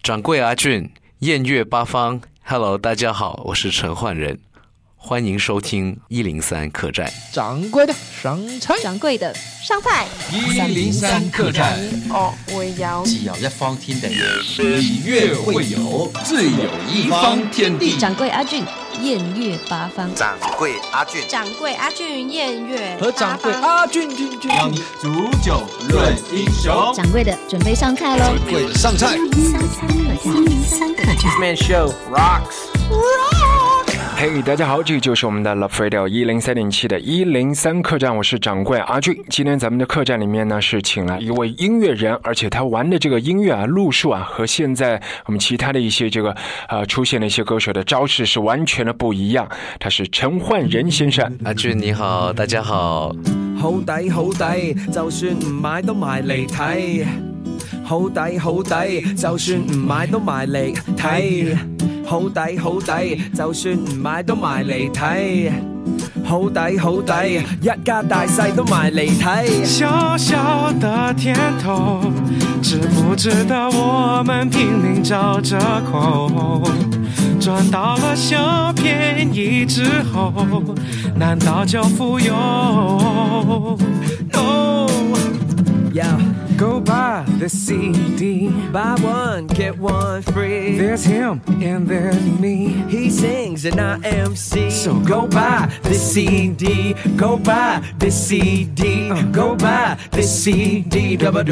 掌柜阿俊，艳乐八方 ，Hello， 大家好，我是陈焕仁，欢迎收听103客栈。 掌柜的上菜， 掌柜的上菜。 103客栈。 哦，我要既要一方天地，以乐会友，自有一方天地。 掌柜阿俊，艳乐八方。 掌柜阿俊， 掌柜阿俊，艳乐和掌柜阿俊， 邀你煮酒论英雄。 掌柜的准备上菜喽！ 掌柜的上菜。 103客栈。 Man Show rocks。 嘿，大家好，这就是我们的 Love Radio 103.7的103客栈，我是掌柜阿俊。今天咱们的客栈里面呢，是请来一位音乐人，而且他玩的这个音乐啊路数啊，和现在我们其他的一些这个出现的一些歌手的招式是完全的不一样。他是陈焕仁先生。 阿俊你好，大家好。 好抵好抵，就算唔買都埋嚟睇。好抵好抵，就算唔買都埋嚟睇。好抵好抵，就算唔買都埋嚟睇。好抵好抵，一家大細都埋嚟睇。 小小的甜頭，知不知道我們拼命找着口，賺到了小便宜之後，難道就富有 ？No， Go buy the CD, buy one get one free. There's him and there's me. He sings and I MC. So go buy the CD, go buy the CD, go buy the CD.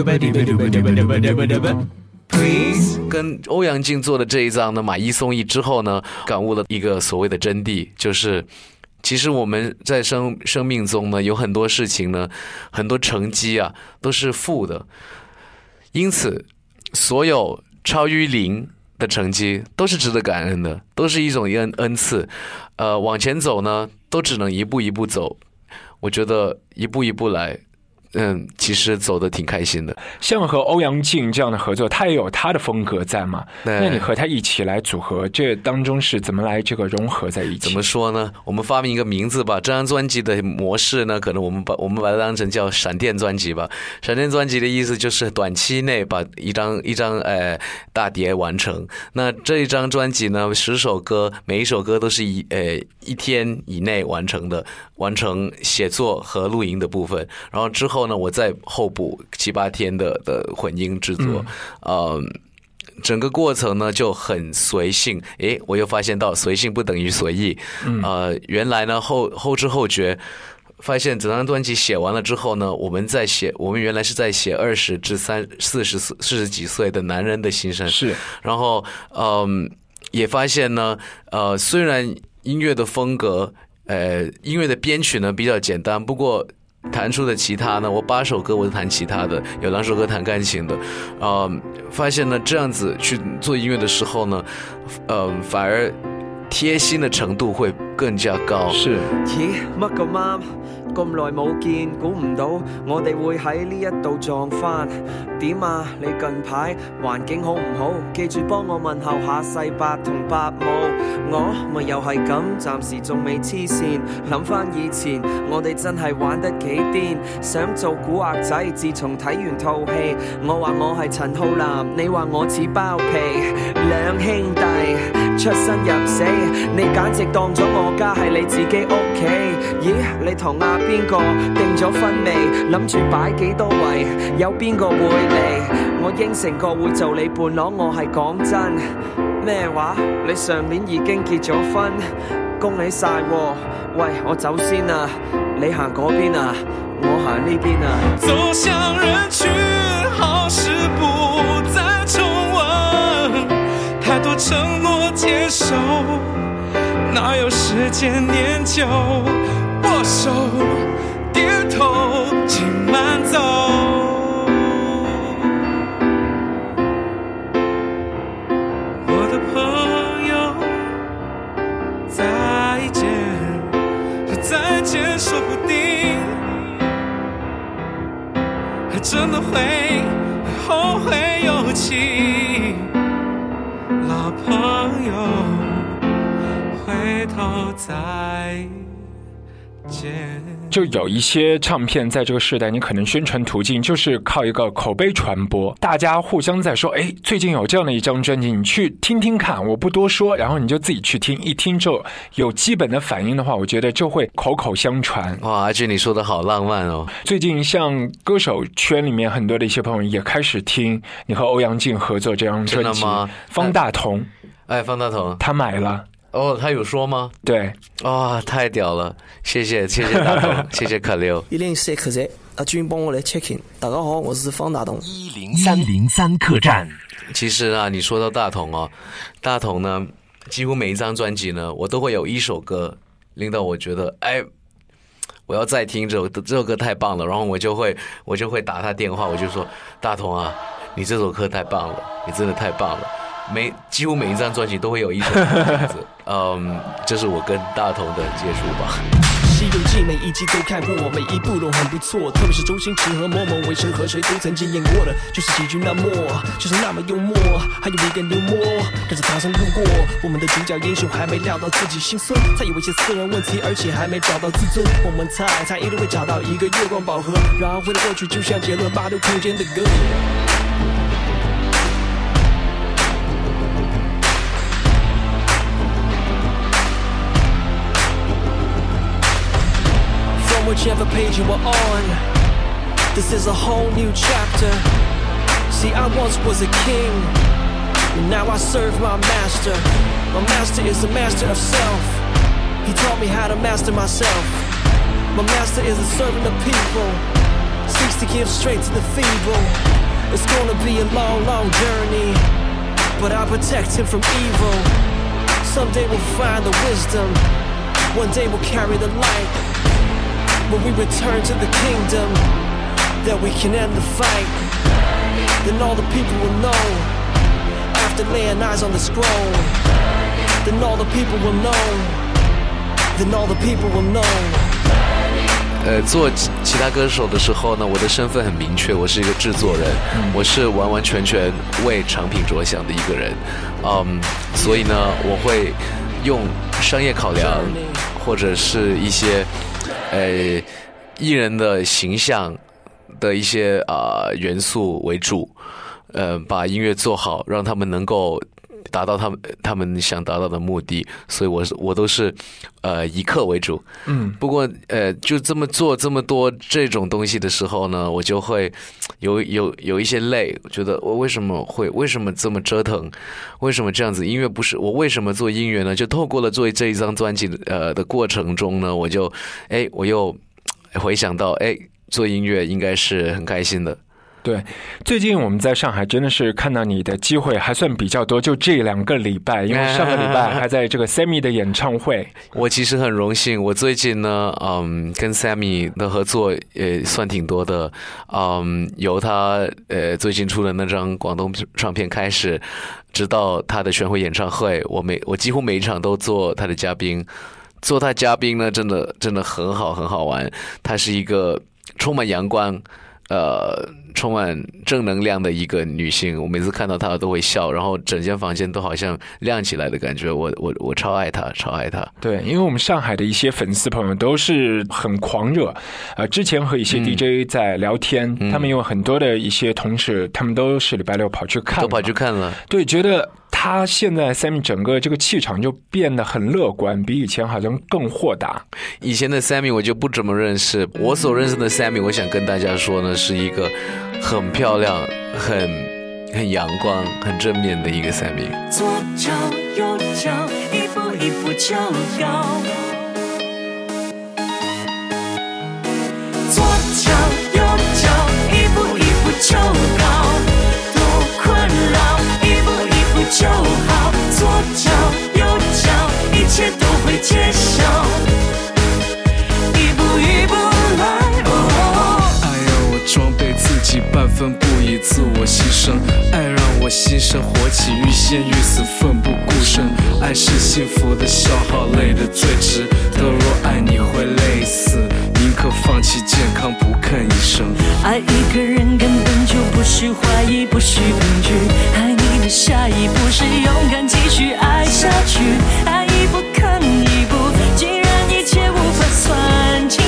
Please。 跟欧阳靖做的这一张呢，买一送一之后呢，感悟了一个所谓的真谛，就是其实我们在生命中呢，有很多事情呢，很多成绩啊，都是负的。因此，所有超于零的成绩都是值得感恩的，都是一种恩赐。往前走呢，都只能一步一步走。我觉得一步一步来。其实走得挺开心的。 像和欧阳靖这样的合作，他也有他的风格在嘛？那你和他一起来组合，这当中是怎么来这个融合在一起？ 怎么说呢？我们发明一个名字吧。这张专辑的模式呢，可能我们把它当成叫闪电专辑吧。闪电专辑的意思就是短期内把一张大碟完成。那这一张专辑呢，10首歌，每一首歌都是一天以内完成的，完成写作和录音的部分，然后之后呢，我再后补7、8天的混音制作，整个过程呢就很随性。我又发现到随性不等于随意。原来呢后知后觉，发现整张专辑写完了之后呢，我们原来是在写20至40几岁的男人的心声。 是， 然后也发现呢，虽然音乐的风格，音乐的编曲呢比较简单，不过弹出的吉他呢，我8首歌我是弹吉他的，有2首歌弹钢琴的。发现呢，这样子去做音乐的時候呢，反而貼心的程度會更加高。 是。 咦，乜咁啱？咁耐冇見，估唔到我哋會喺呢一度撞返。點啊？你近排環境好唔好？記住幫我問候下世伯同伯母。我咪又係咁，暫時仲未黐線。諗返以前，我哋真係玩得幾癲，想做古惑仔。自從睇完套戲，我話我係陳浩南，你話我似包皮。兩兄弟出生入死，你簡直當咗我家係你自己屋企。咦，你同阿邊個定咗婚未？諗住擺幾多圍？有邊個會嚟？我應承過會做你伴郎，我係講真。咩話？你上年已經結咗婚，恭喜晒喎！喂，我走先啊，你行嗰邊啊，我行呢邊啊。 走向人群，好事不再重温，太多承諾接受，哪有時間念舊？握手點頭請慢走，我的朋友再見，再見說不定還真的會後會有期，老朋友回頭再見。 线。 就有一些唱片在这个时代，你可能宣传途径就是靠一个口碑传播，大家互相在说，哎，最近有这样的一张专辑，你去听听看，我不多说，然后你就自己去听，一听之后有基本的反应的话，我觉得就会口口相传。 哇，阿俊你说的好浪漫哦。 最近像歌手圈里面很多的一些朋友也开始听你和欧阳靖合作这张专辑。 真的吗？ 方大同， 方大同他买了。 哦，他有说吗？ 对， 哇，太屌了！谢谢大同，谢谢可六。 104客栈，阿俊帮我来 check in。大家好，我是方大同。 103客栈。 其实啊，你说到大同哦，大同呢，几乎每一张专辑呢，我都会有一首歌令到我觉得，哎，我要再听这首歌太棒了，然后我就会打他电话，我就说，大同啊，你这首歌太棒了，你真的太棒了。几乎每一张专辑都会有一首歌的名字，这是我跟大同的接触吧。 西游记每一集都看过，每一部都很不错，特别是周星驰和某某为谁和谁都曾经演过的，就是喜剧那么，就是那么幽默，还有一个幽默，跟着唐僧路过，我们的主角英雄还没料到自己心酸，他有一些私人问题，而且还没找到自尊，我们猜他一定会找到一个月光宝盒，然后回到过去，就像杰伦86空间的歌。Whichever page you are on, this is a whole new chapter. See, I once was a king, and now I serve my master. My master is the master of self. He taught me how to master myself. My master is a servant of people, seeks to give strength to the feeble. It's gonna be a long, long journey, but I protect him from evil. Someday we'll find the wisdom, one day we'll carry the light.When we return to the kingdom, then we can end the fight. Then all the people will know, after laying eyes on the scroll. Then all the people will know, then all the people will know. 做其他歌手的时候呢，我的身份很明确，我是一个制作人，我是完完全全为产品着想的一个人，所以呢，我会用商业考量或者是一些艺人的形象的一些元素为主，把音乐做好，让他们能够达到他们想达到的目的，所以我都是以客为主。不过就这么做这么多这种东西的时候呢，我就会有一些累，觉得我为什么这么折腾，为什么这样子？音乐不是我为什么做音乐呢？就透过了做这一张专辑的过程中呢，我又回想到做音乐应该是很开心的。 对，最近我们在上海真的是看到你的机会还算比较多，就这2个礼拜，因为上个礼拜还在这个 Sammy 的演唱会。 我其实很荣幸，我最近呢，跟 Sammy 的合作也算挺多的，由他最近出的那张广东唱片开始，直到他的巡回演唱会，我几乎每一场都做他的嘉宾。做他嘉宾呢，真的很好玩。她是一个充满阳光，充满正能量的一个女性，我每次看到她都会笑，然后整间房间都好像亮起来的感觉。我超爱她。 对，因为我们上海的一些粉丝朋友都是很狂热，之前和一些 DJ 在聊天，他们有很多的一些同事，他们都是礼拜六跑去看了。对，觉得他现在 Sammy 整个这个气场就变得很乐观，比以前好像更豁达。 以前的 Sammy 我就不怎么认识，我所认识的 Sammy， 我想跟大家说呢，是一个很漂亮、很阳光、很正面的一个 Sammy。 左脚右脚，一步一步就高。左脚右脚，一步一步就高。多困扰，一步一步就好。左脚右脚，一切都会揭晓。一步一步来。 装备自己半分不以自我牺牲，爱让我心生火起，欲仙欲死奋不顾身。爱是幸福的消耗，累的最值得。若爱你会累死，宁可放弃健康，不肯一生。 爱一个人根本就不需怀疑，不需恐惧。爱你的下一步是勇敢继续爱下去。爱一步看一步，既然一切无法算计。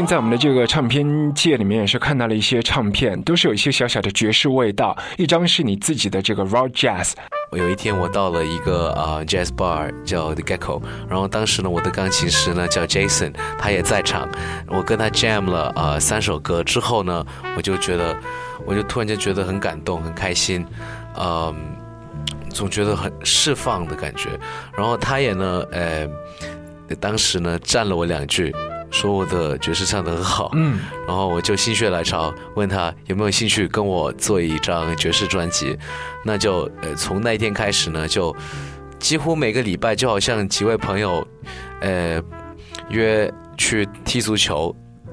前在我们的这个唱片界里面也是看到了一些唱片，都是有一些小小的爵士味道。一张是你自己的这个 raw jazz。 有一天我到了一个jazz bar 叫 The Gecko， 然后当时呢我的钢琴师呢叫 Jason， 他也在场，我跟他 jam 了3首歌之后呢，我就突然间觉得很感动很开心，总觉得很释放的感觉。然后他也呢当时呢赞了我2句，说我的爵士唱得很好，然后我就心血来潮问他有没有兴趣跟我做一张爵士专辑。那就从那一天开始呢，就几乎每个礼拜就好像几位朋友约去踢足球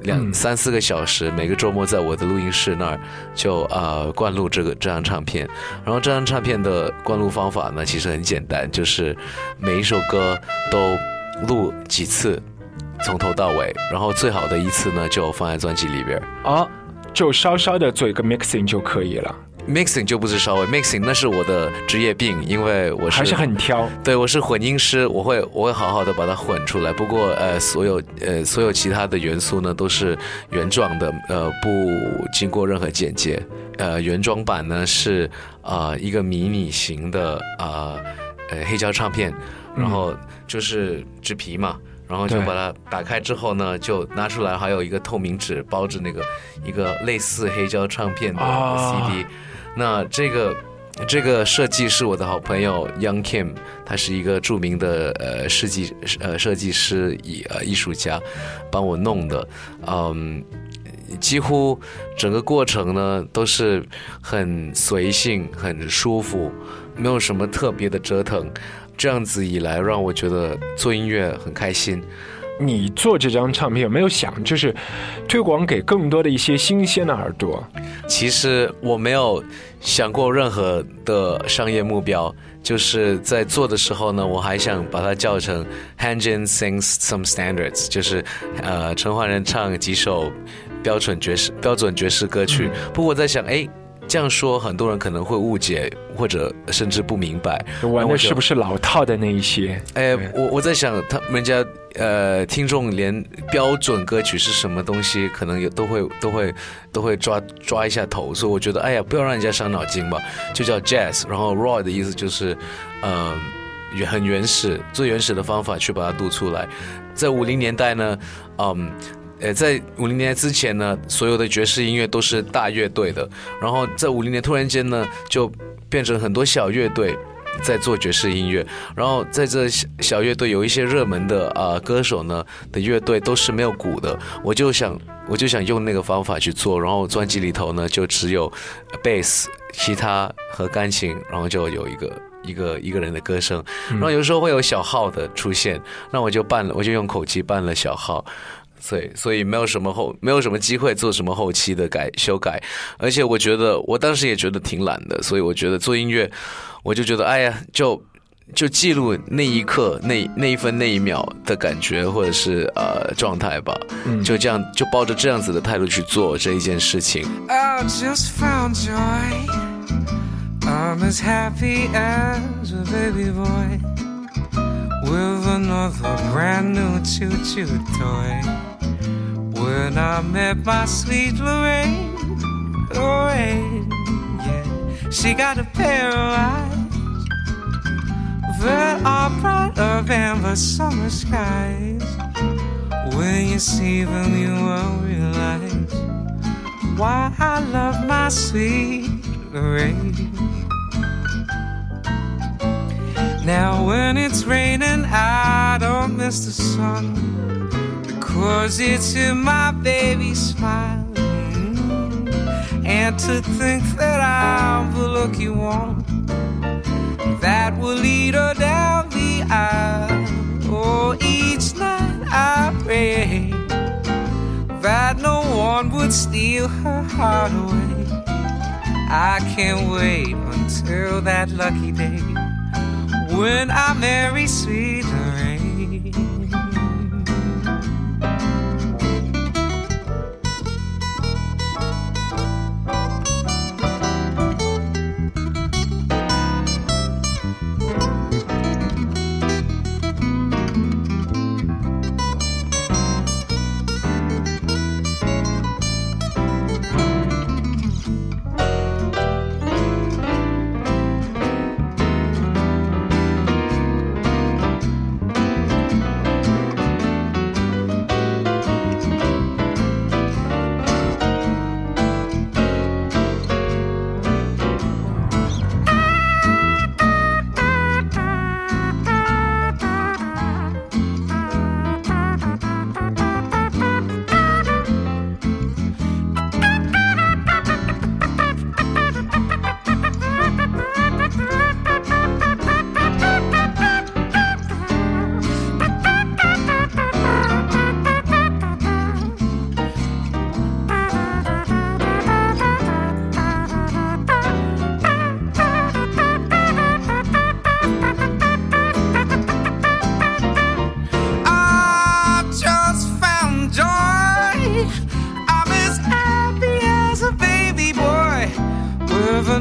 3-4个小时，每个周末在我的录音室那儿就灌录这张唱片。然后这张唱片的灌录方法呢其实很简单，就是每一首歌都录几次从头到尾，然后最好的一次呢就放在专辑里边就稍稍的做一个 mixing 就可以了。 mixing 就不是稍微 mixing， 那是我的职业病，因为我还是很挑。 对，我是混音师，我会好好的把它混出来。不过所有其他的元素呢都是原装的，不经过任何剪接。原装版呢是一个迷你型的黑胶唱片，然后就是纸皮嘛。然后就把它打开之后呢，就拿出来，还有一个透明纸包着一个类似黑胶唱片的 CD。那这个设计是我的好朋友 Young Kim， 他是一个著名的设计师艺术家，帮我弄的。几乎整个过程呢都是很随性很舒服，没有什么特别的折腾。这样子以来让我觉得做音乐很开心。 你做这张唱片有没有想就是推广给更多的一些新鲜的耳朵？ 其实我没有想过任何的商业目标，就是在做的时候呢，我还想把它叫成 Hanjin sings some standards， 就是陈奂仁唱几首标准爵士歌曲。不过我在想这样说很多人可能会误解或者甚至不明白， 玩的是不是老套的那一些？ 我在想人家听众连标准歌曲是什么东西可能都会抓一下头，所以我觉得不要让人家伤脑筋吧，就叫 jazz。 然后 raw 的意思就是很原始，最原始的方法去把它读出来。在50年代呢在50年之前呢，所有的爵士音乐都是大乐队的，然后在50年突然间呢，就变成很多小乐队在做爵士音乐。然后在这小乐队有一些热门的歌手呢的乐队都是没有鼓的，我就想用那个方法去做。然后专辑里头呢就只有贝斯、吉他和钢琴，然后就有一个人的歌声，然后有时候会有小号的出现，那我就用口技办了小号。所以没有什么机会做什么后期的修改，而且我觉得我当时也觉得挺懒的，所以我觉得做音乐，我就觉得就记录那一刻那一分那一秒的感觉或者是状态吧，就这样就抱着这样子的态度去做这一件事情。 I just found joy, I'm as happy as a baby boy with another brand new choo-choo toy.When I met my sweet Lorraine, yeah, she got a pair of eyes that are bright of amber summer skies. When you see them, you will realize why I love my sweet Lorraine. Now when it's raining, I don't miss the sun.'Cause it's in my baby's smile, and to think that I'm the lucky one that will lead her down the aisle. Oh, each night I pray that no one would steal her heart away. I can't wait until that lucky day when I marry sweet Lorraine.When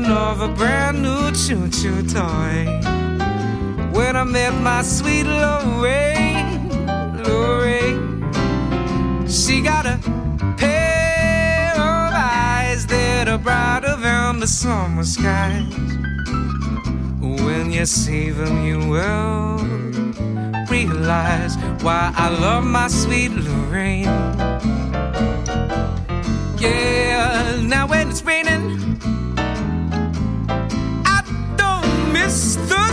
feeling of a brand new choo-choo toy. When I met my sweet Lorraine, she got a pair of eyes that are brighter than the summer skies. When you see them, you will realize why I love my sweet Lorraine. Yeah, now when it's raining, I don't miss the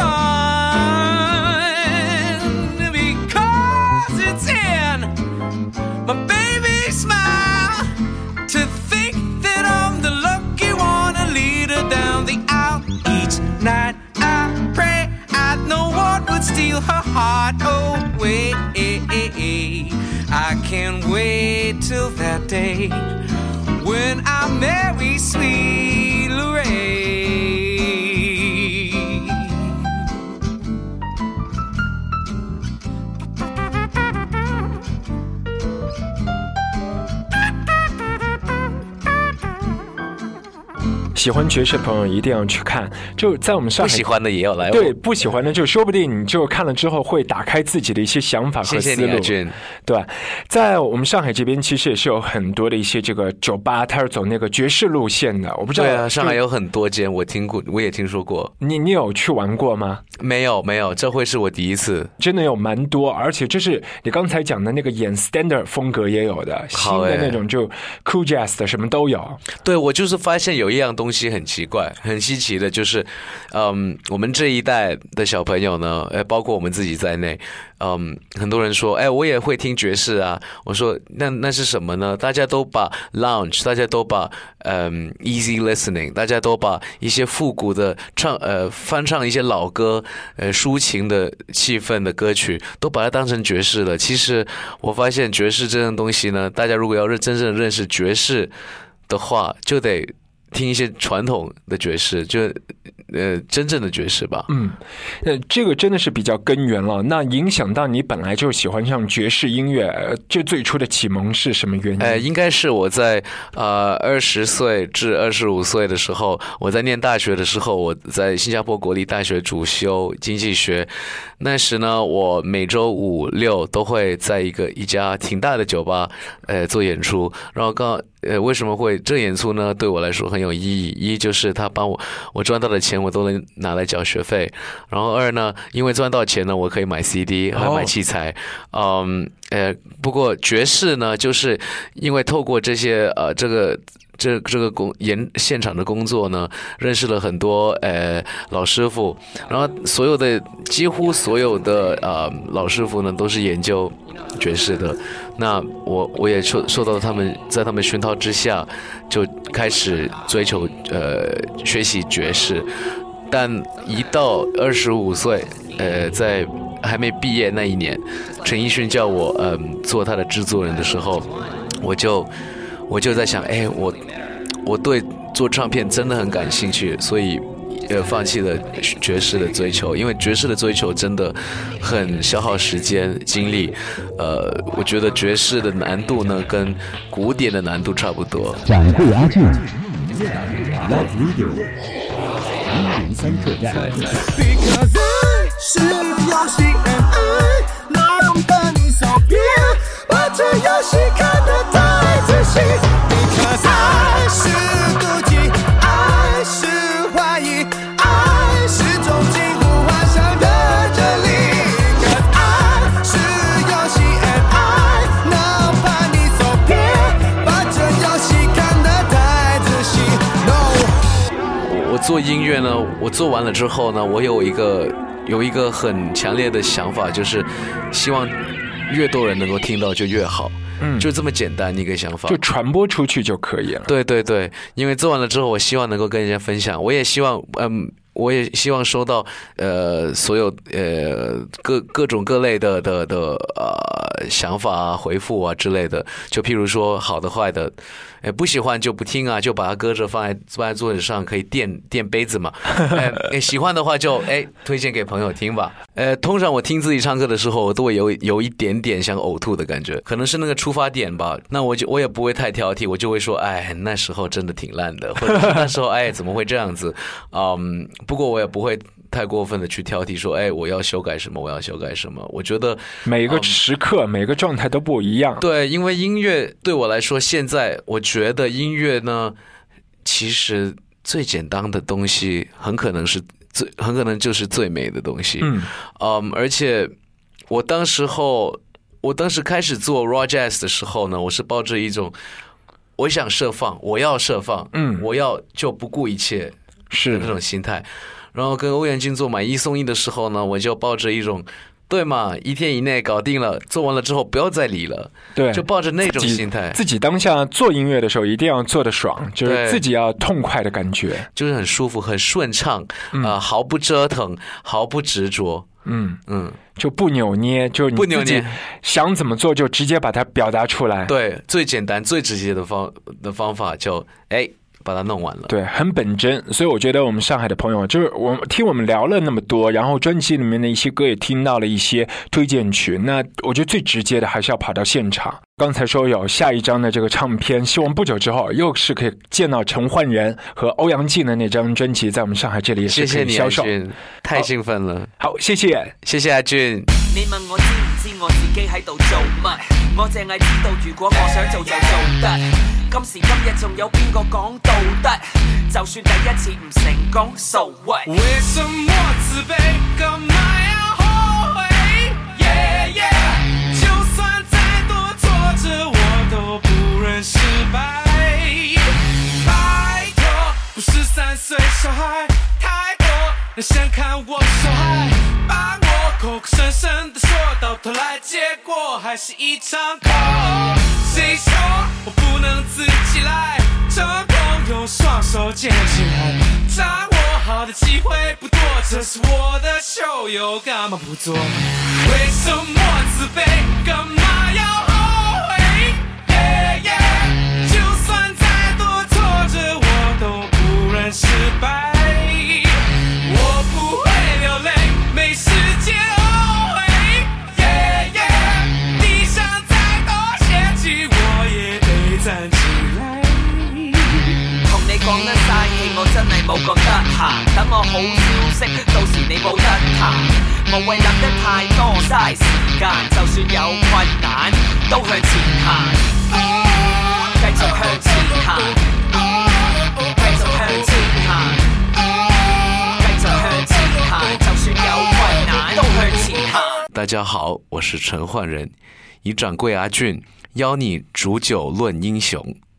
sun, because it's in my baby's smile to think that I'm the lucky one to lead her down the aisle. Each night I pray I know what would steal her heart away. I can't wait till that day when I marry sweet Lorraine. 喜欢爵士的朋友一定要去看，就在我们上海。 不喜欢的也要来。 对，不喜欢的就说不定你就看了之后会打开自己的一些想法和思路。 谢谢你，阿俊。 对，在我们上海这边其实也是有很多的一些这个酒吧，它是走那个爵士路线的。我不知道。 对啊，上海有很多间，我听过，我也听说过。 你有去玩过吗？ 没有，这会是我第一次。 真的有蛮多，而且就是你刚才讲的那个演 standard 风格也有的，新的那种就 cool jazz 的什么都有。 对，我就是发现有一样东西很奇怪。很稀奇的就是，我们这一代的小朋友呢，包括我们自己在内，很多人说，我也会听爵士啊。我说，那是什么呢？大家都把 lounge， 大家都把easy listening， 大家都把一些复古的翻唱一些老歌，抒情的气氛的歌曲，都把它当成爵士了。其实我发现爵士这种东西呢，大家如果要真正认识爵士的话，就得听一些传统的爵士，就真正的爵士吧。 这个真的是比较根源了。那影响到你本来就喜欢上爵士音乐，这最初的启蒙是什么原因？ 应该是我在20岁至25岁的时候，我在念大学的时候，我在新加坡国立大学主修经济学。那时呢，我每周5、6都会在一家挺大的酒吧做演出。然后为什么会这演出呢？对我来说很有意义。一就是他帮我赚到的钱我都能拿来缴学费，然后二呢，因为赚到钱呢，我可以买 CD 还买器材。不过爵士呢，就是因为透过这些这个现场的工作呢，认识了很多老师傅，然后几乎所有的老师傅呢都是研究爵士的。那我也受到在他们熏陶之下，就开始追求学习爵士。但一到25岁，在还没毕业那一年，陈奕迅叫我做他的制作人的时候，我就在想，我对做唱片真的很感兴趣，所以放弃了爵士的追求，因为爵士的追求真的很消耗时间精力。我觉得爵士的难度呢，跟古典的难度差不多。 掌柜阿俊 Love Radio 103客栈。Because I 是游戏 and I 能把你扫遍，把这游戏看得太仔细。Because I 是妒忌，爱是怀疑，爱是种近乎幻想的真理。Because I 是游戏 and I 能把你走偏，把这游戏看得太仔细。No。 我做音乐呢，我做完了之后呢，我有一个很强烈的想法，就是希望越多人能够听到就越好。就这么简单一个想法， 就传播出去就可以了。 对对对，因为做完了之后，我希望能够跟人家分享，我也希望我也希望收到所有各种各类的想法啊、回复啊之类的。就譬如说好的坏的，不喜欢就不听啊，就把它搁着放在桌子上，可以垫杯子嘛。喜欢的话就推荐给朋友听吧。通常我听自己唱歌的时候，我都会有一点点想呕吐的感觉，可能是那个出发点吧。那我也不会太挑剔，我就会说，那时候真的挺烂的，或者是那时候怎么会这样子？不过我也不会太过分的去挑剔说，我要修改什么，我要修改什么。我觉得每个时刻、每个状态都不一样。 对，因为音乐对我来说，现在我觉得音乐呢，其实最简单的东西，很可能就是最美的东西。而且我当时开始做 raw jazz 的时候呢，我是抱着一种我想释放，我要释放，我要就不顾一切是那种心态。然后跟欧阳靖做买一送一的时候呢，我就抱着一种对嘛，1天以内搞定了，做完了之后不要再理了，对，就抱着那种心态。 自己当下做音乐的时候一定要做得爽，就是自己要痛快的感觉， 就是很舒服、很顺畅，毫不折腾，毫不执着。 就不扭捏，就你自己想怎么做就直接把它表达出来。 对，最简单、最直接的方法就把它弄完了。 对，很本真。所以我觉得我们上海的朋友，就是我们聊了那么多，然后专辑里面的一些歌也听到了一些推荐曲，那我觉得最直接的还是要跑到现场。刚才说有下一张的这个唱片，希望不久之后又是可以见到陈奂仁和欧阳靖的那张专辑在我们上海这里也是可以销售。 谢谢你，阿俊，太兴奋了。 好，谢谢阿俊。 你問我知唔知我自己喺度做乜？我淨係知道如果我想做就做得。今時今日仲有邊個講道德？就算第一次唔成功 ，so what？ 為什麼自卑？幹嘛要後悔？ Yeah yeah， 就算再多挫折，我都不忍失敗。拜託，不是3歲小孩，太多人想看我受害，把我口口聲聲的說，到頭來結果還是一場空。誰說我不能自己來？成功用雙手捡起來，掌握好的機會不多，這是我的秀，又幹嘛不做？為什麼自卑？幹嘛要後悔？ Yeah yeah， 就算再多挫折，我都不忍失敗。我不會流淚，沒時間後悔。Yeah yeah， 地上再多險境，我也得站起來。 同你講得嘥氣，我真係冇覺得閒。等我好消息，到時你冇得彈。無謂諗得太多，嘥時間。就算有困難，都向前行。繼續向前行，繼續向前行，繼續向前行。就算有困難，都向前行。 大家好，我是陳奂仁，以掌櫃阿俊邀你煮酒論英雄。